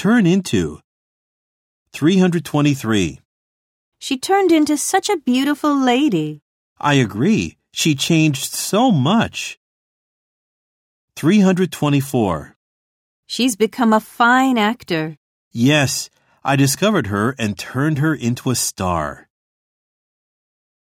turn into. 323. She turned into such a beautiful lady. I agree. She changed so much. 324. She's become a fine actor. Yes, I discovered her and turned her into a star.